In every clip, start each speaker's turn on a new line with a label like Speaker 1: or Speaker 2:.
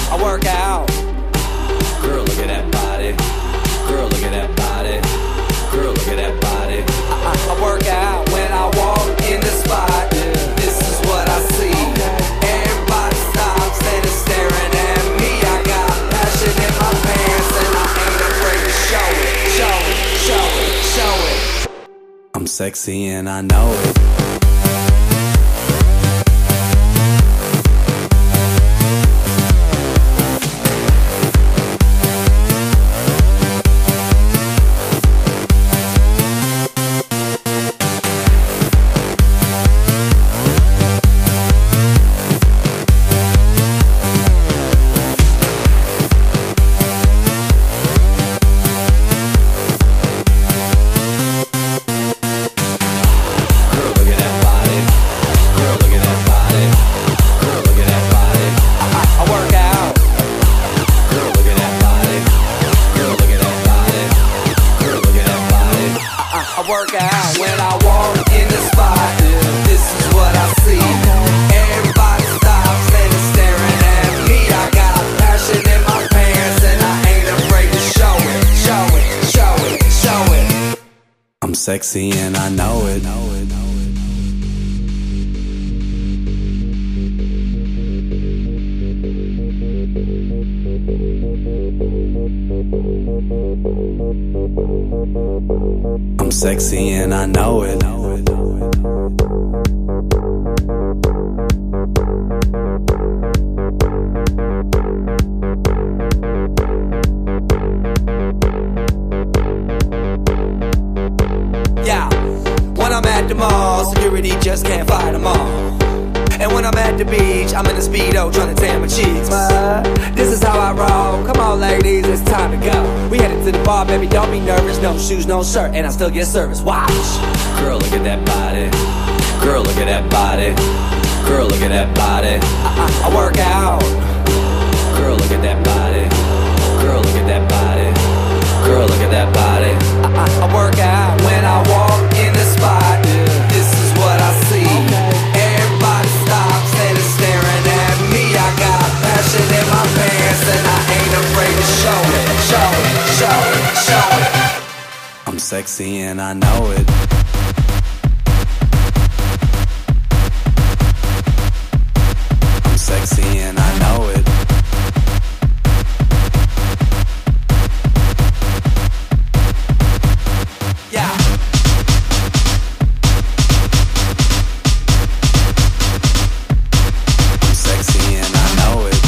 Speaker 1: I work out. Girl, look at that body. Girl, look at that body. Girl, look at that body. I work out when I walk in the spot. This is what I see. Everybody stops and is staring at me. I got passion in my pants and I ain't afraid to show it. Show it, show it, show it. I'm sexy and I know it. Work out when I walk in the spot. This is what I see. Everybody stops and is staring at me. I got passion in my pants and I ain't afraid to show it. Show it, show it, show it. I'm sexy and I know it. I'm sexy and I know it. Yeah, when I'm at the mall, security just can't fight them all. And when I'm at the beach, I'm in a Speedo trying to tan my cheeks. This is how I roll. Come on, ladies, it's time to go. We headed to the bar, baby, don't be nervous. No shoes, no shirt, and I still get service. Watch. Girl, look at that body. Girl, look at that body. Girl, look at that body. I work out. Girl, look at that body. Girl, look at that body. Girl, look at that body. I work out when I walk in the spot. This is what I see. Everybody stops and is staring at me. I got passion in my pants and I ain't afraid to show it. Show it, show it, show it. I'm sexy and I know it. I'm sexy and I know it. Yeah. I'm sexy and I know it.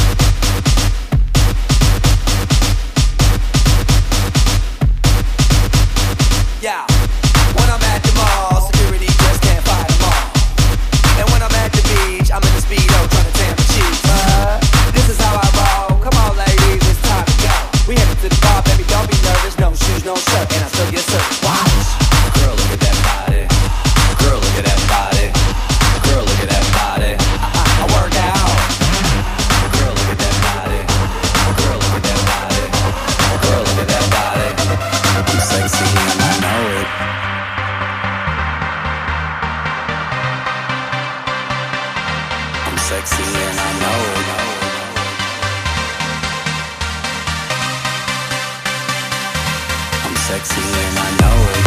Speaker 1: Yeah. When I'm at the mall, security just can't fight them all. And when I'm at the beach, I'm in the Speedo trying to tan my cheeks. This is how I roll. Come on, ladies, it's time to go. We headed to the bar, baby, don't be nervous. No shoes, no shirt, and I still get service. Watch. Girl, look at that body. Girl, look at that body. Girl, look at that body. I work out. Girl, look at that body. Girl, look at that body. Girl, look at that body. I'm sexy and I know it. I'm sexy and I know it. I'm sexy and I know it.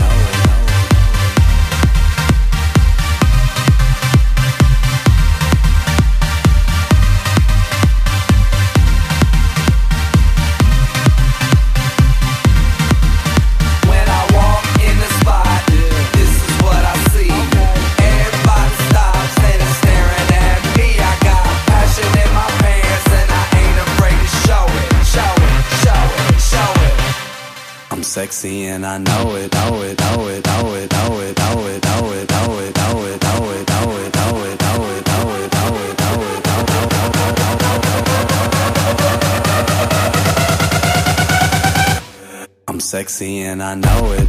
Speaker 1: When I walk in the spot, this is what I see. Everybody stops and is staring at me. I got passion in my pants and I ain't afraid to show it. Show it, show it, show it. I'm sexy and I know it, know it, know it, know it, know it, know it, know it, know it, know it, know it, know it, know it, know it, know it, know it, know it, I'm sexy and I know it.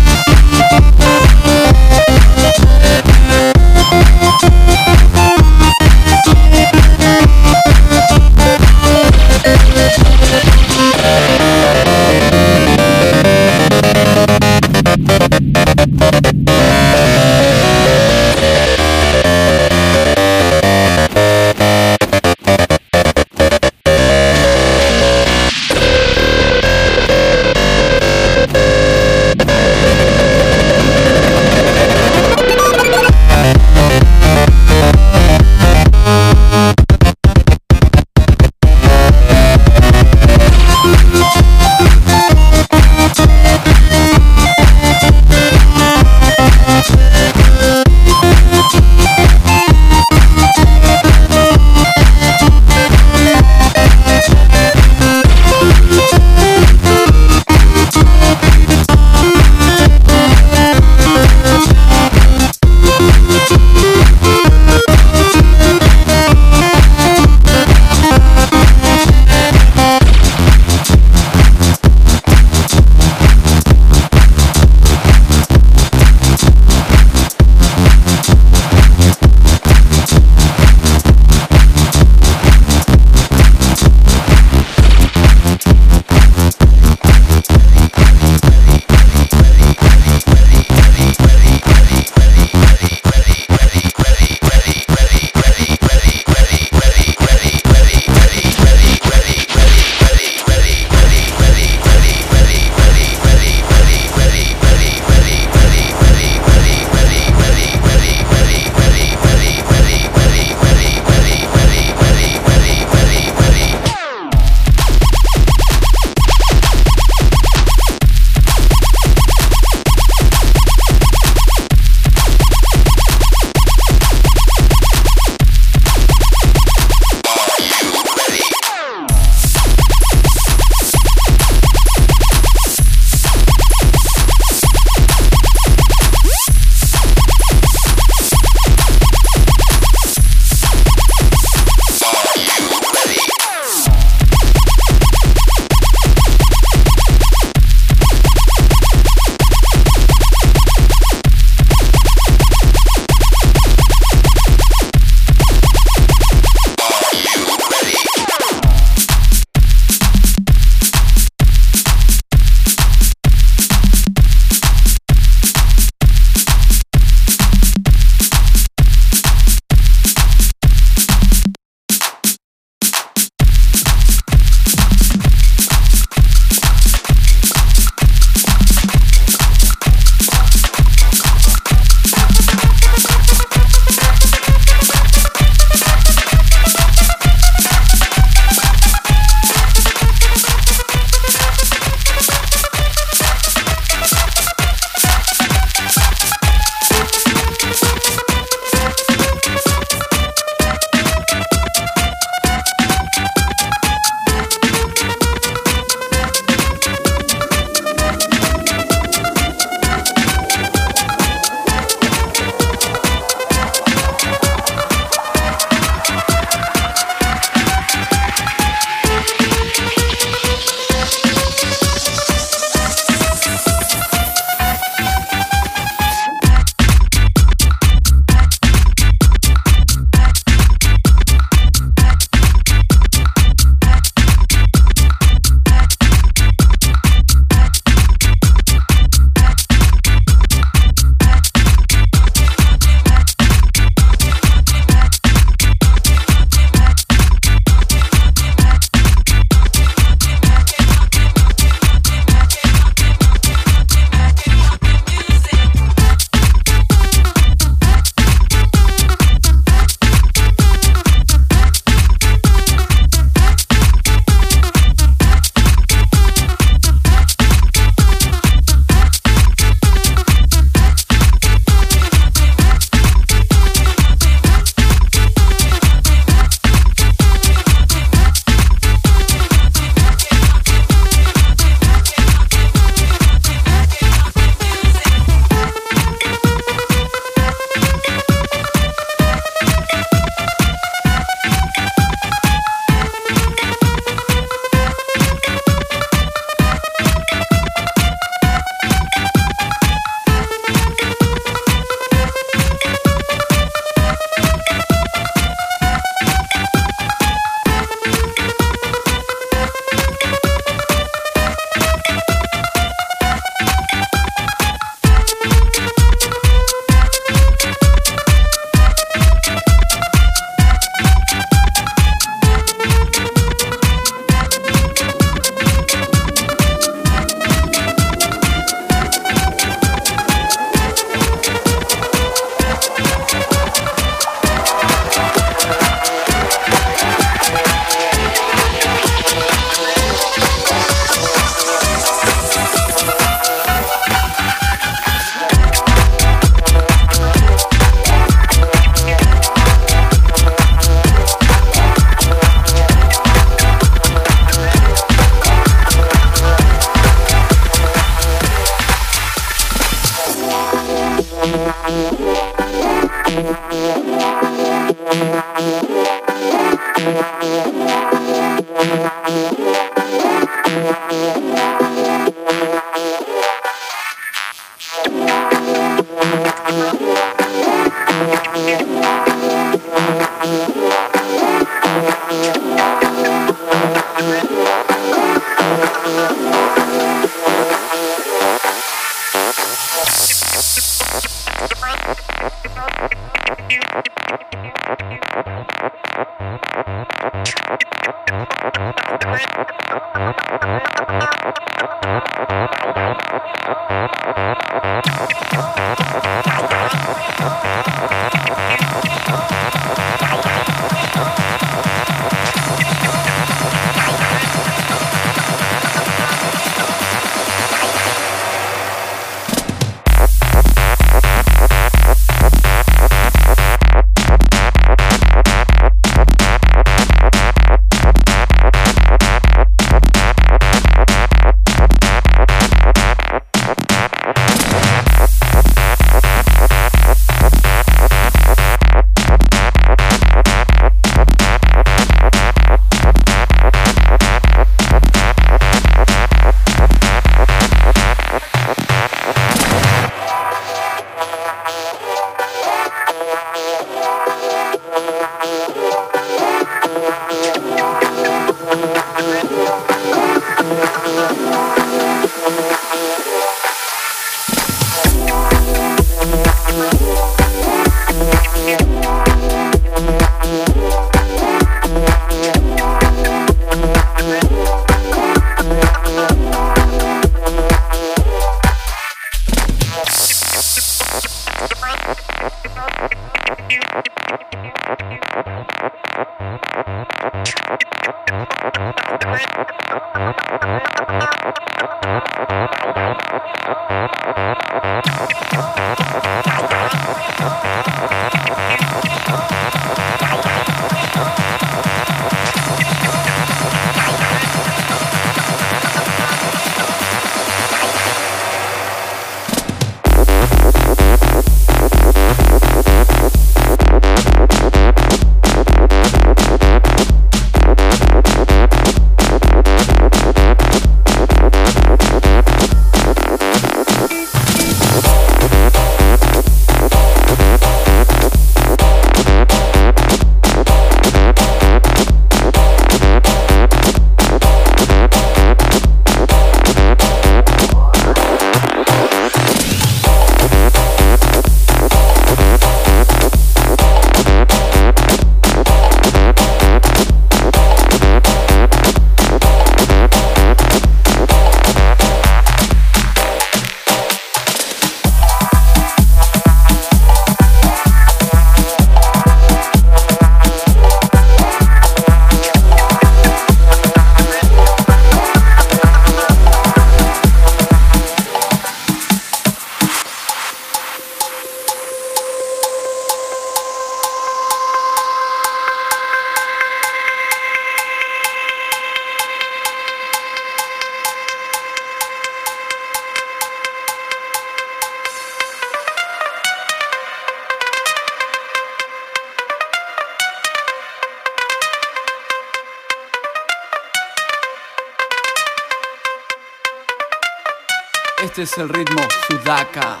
Speaker 2: Este es el ritmo Sudaka.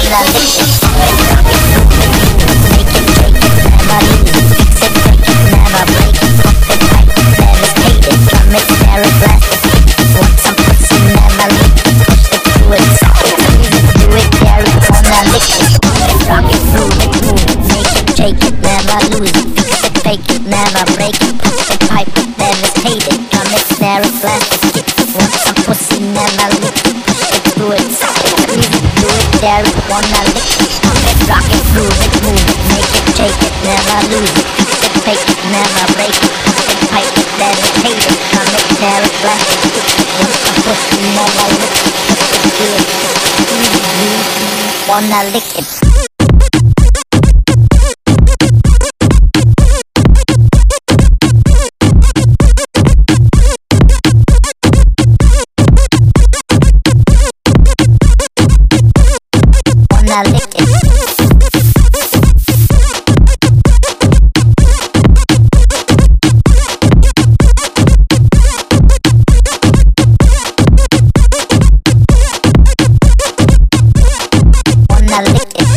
Speaker 3: wanna lick it. Make it, shake it, never lose it. Fix it, fake it, never break it. Pump it, pipe it, devastate it. Drum it, snare it, blast it, kick it. Want some pussy, never lick it. Push it, do it, suck it, squeeze it, do it, dare it, wanna lick it. Pump it, rock it, groove it, move it. Make it, shake it, never lose it. Fix it, fake it, never break it. Pump it, pipe it, devastate it. Drum it, snare it, blast it, kick it. Want some pussy, never lick it. Push it, do it, suck it, squeeze it, do it, dare it, wanna lick it. Pump it, rock it, groove it, move it. Make it, shake it, never lose it. Fix it, fake it, never break it. Pump it, pipe it, devastate it. Drum it, snare it, blast it, kick it. Want some pussy, never lick it. Push it, do it, wanna lick it. Wanna lick it. Wanna lick it.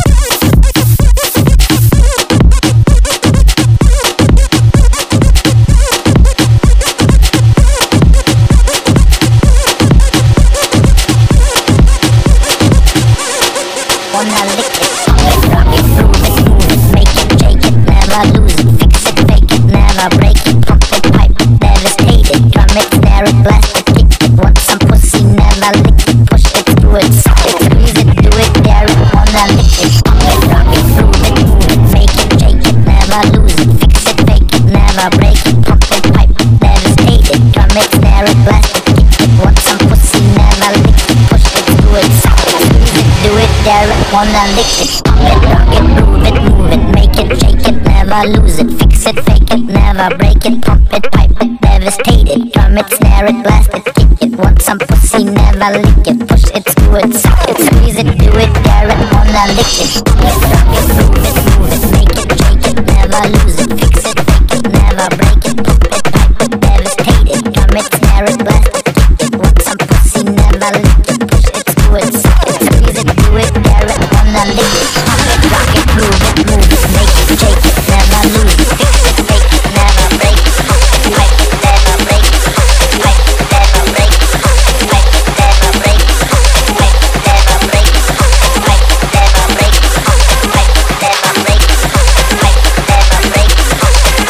Speaker 3: Wanna lick it. Pump it, rock it, groove it, move it. Make it, shake it, never lose it. Fix it, fake it, never break it. Pump it, pipe it, devastate it. Drum it, snare it, blast it, kick it. Want some pussy, never lick it. Push it, do it, suck it, squeeze it, do it, dare it, wanna lick it. Pump it, rock it, groove it, move it. Make it, shake it, never lose it. Fix it, fake it, never break it. Pump it, pipe it, devastate it. Drum it, snare it, blast it, kick it. Want some pussy, never lick it. Push it, do it, suck it, squeeze it, do it, dare it, wanna lick it. Pump it, rock it, groove it, move it. Make it, shake it, never lose it. Fix it, fake it, never break it. Pump it, pipe it, devastate it. Drum it, snare it, blast it, kick it. Want some pussy, never lick it. Push it, do it, suck it, squeeze it, do it, dare it, wanna lick it. Pump it, rock it, groove it, move it. Make it, shake it, never lose it. Fix it, fake it, never break it. Pump it, pipe it, devastate it. Drum it, snare it, blast it, kick it. Want some pussy, never lick it. Push it, do it, suck it, squeeze it, do it, dare it, wanna lick it. Pump it, rock it, groove it, move it. Make it, shake it, never lose it. Fix it, fake it, never break it. Pump it, pipe it, never break it. Pump it, pipe it, never break it. Pump it, pipe it, never break it. Pump it, pipe it, never break it. Pump it, pipe it, never break it. Pump it, pipe it, never break it. Pump it, pipe it, never break it. Pump it,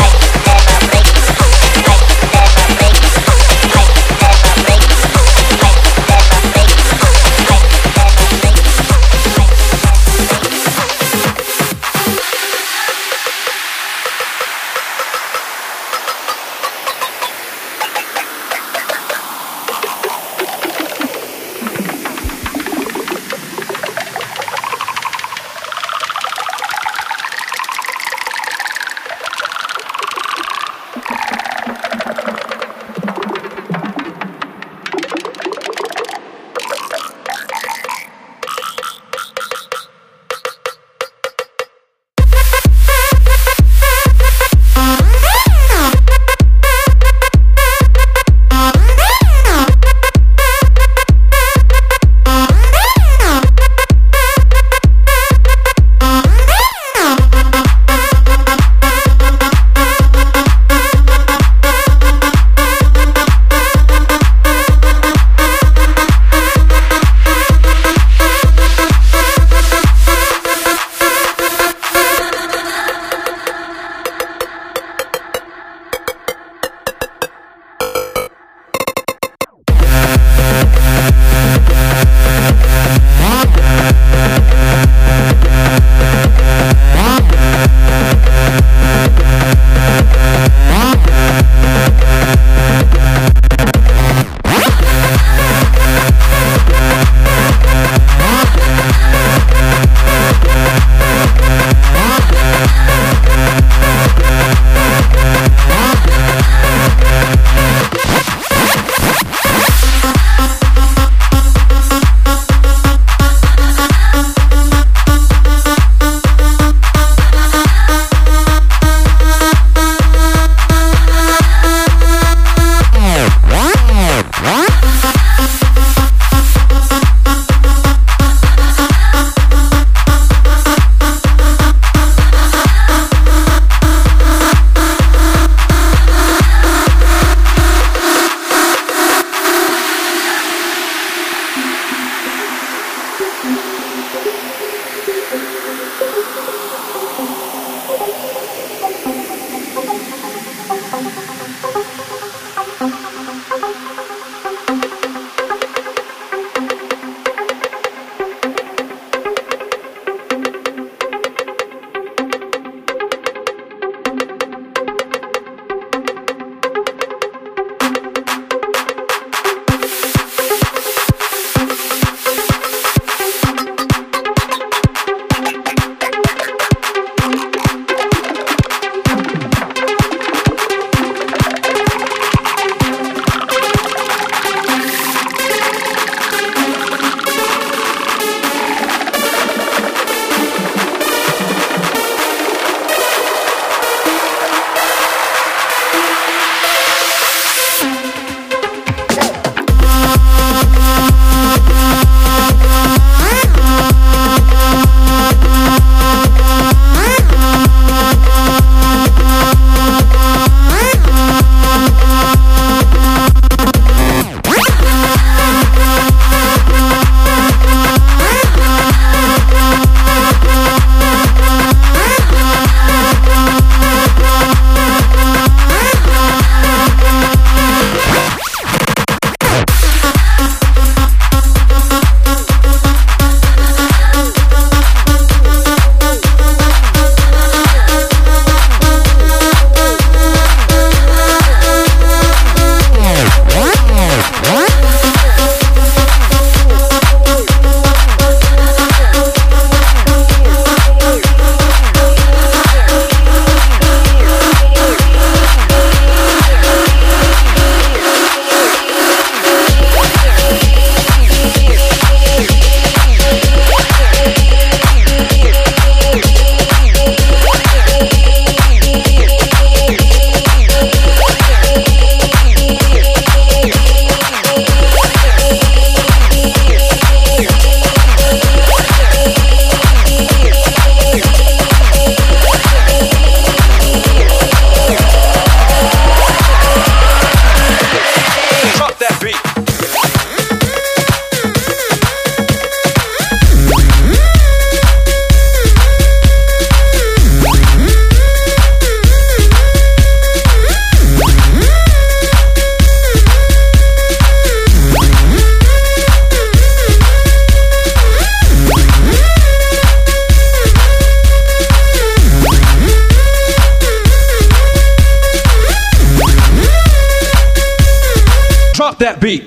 Speaker 2: Drop that beat.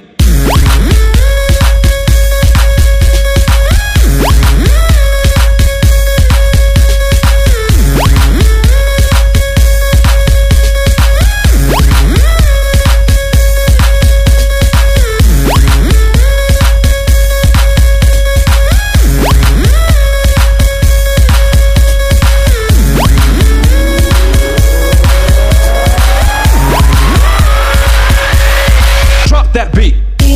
Speaker 2: That beat.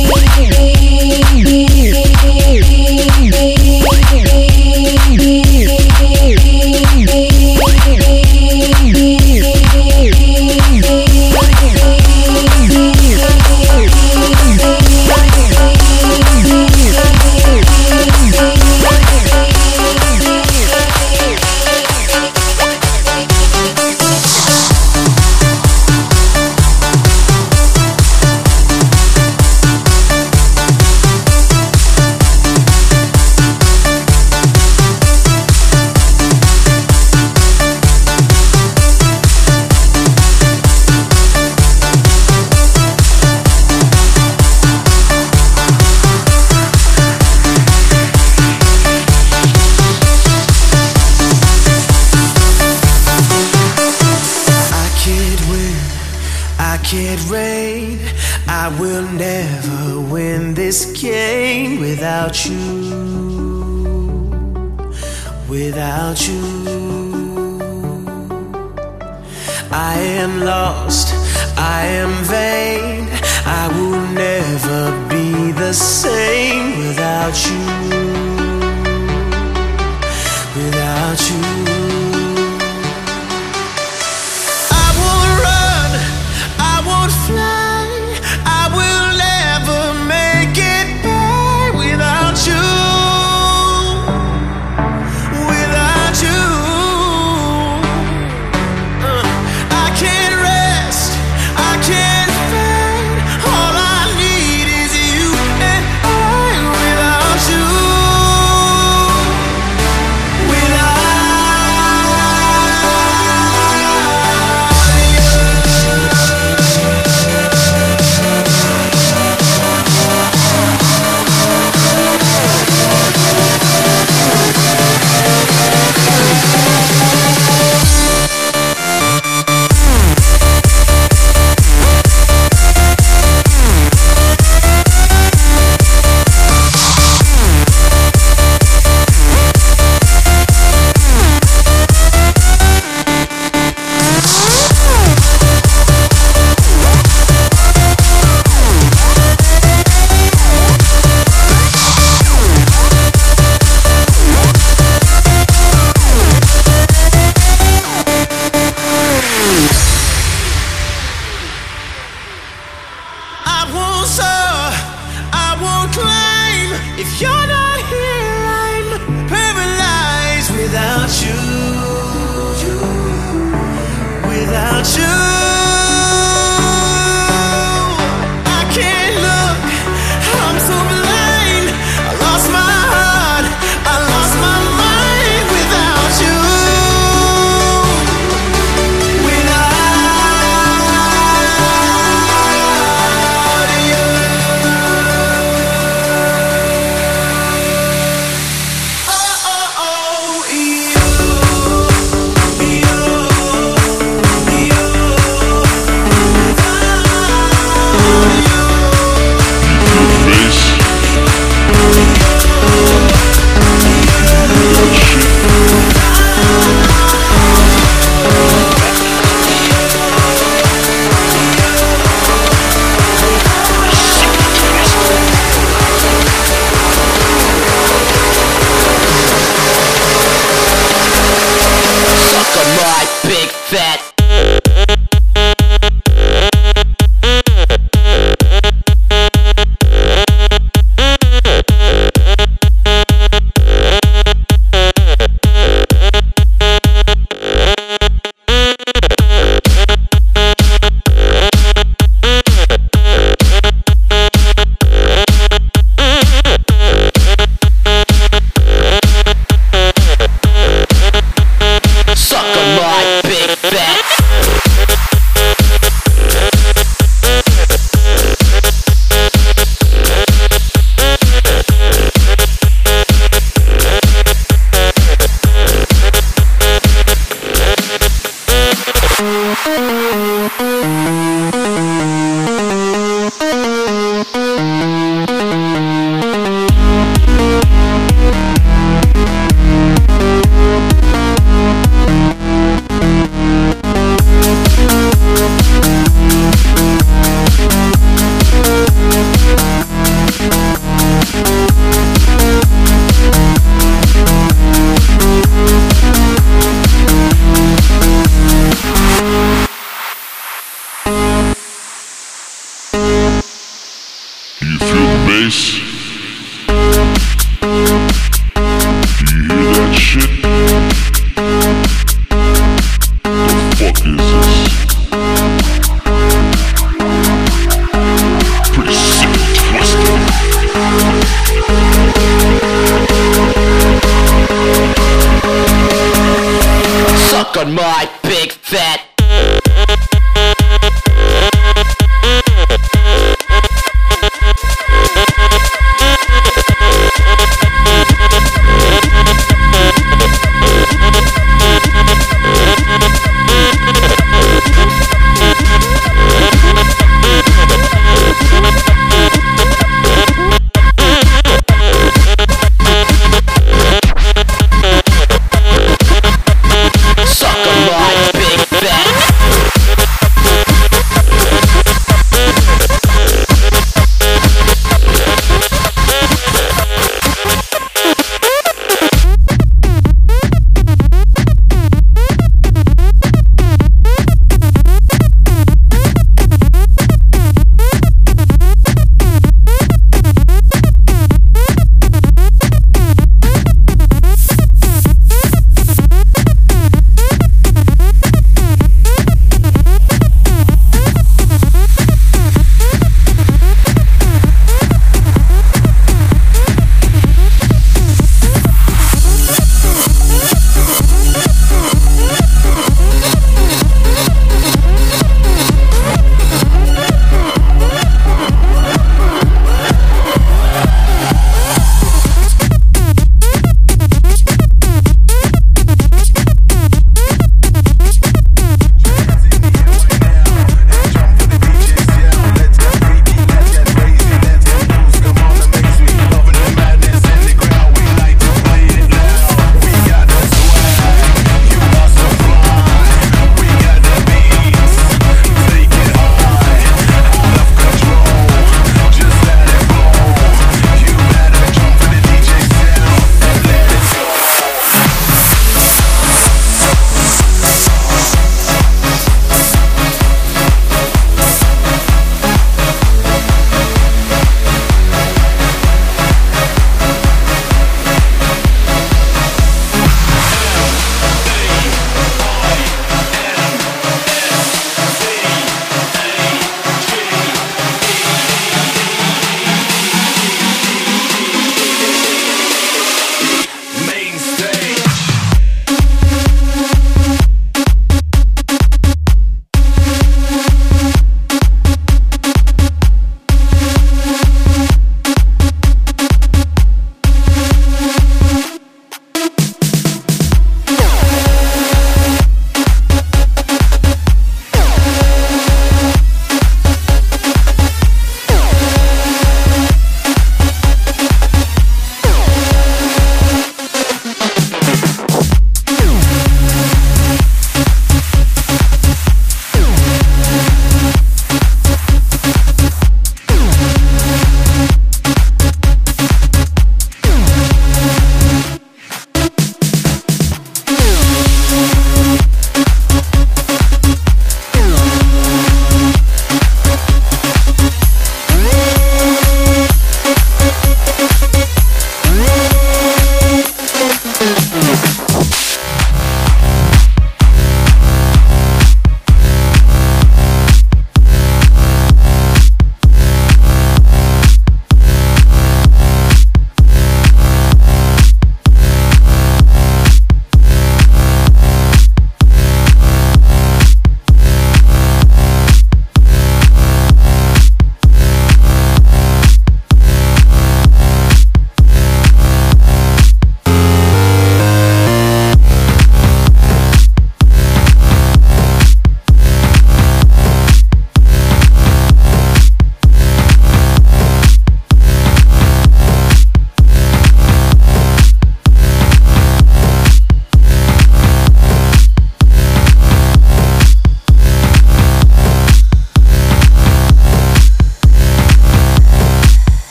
Speaker 4: Can't rain, I will never win this game without you, without you. I am lost, I am vain, I will never be the same without you, without you. Fly, I will never make it by without you, without you. I can't rest, I can't find. All I need is you and I without you, without you. If you're not here, I'm paralyzed without you, without you.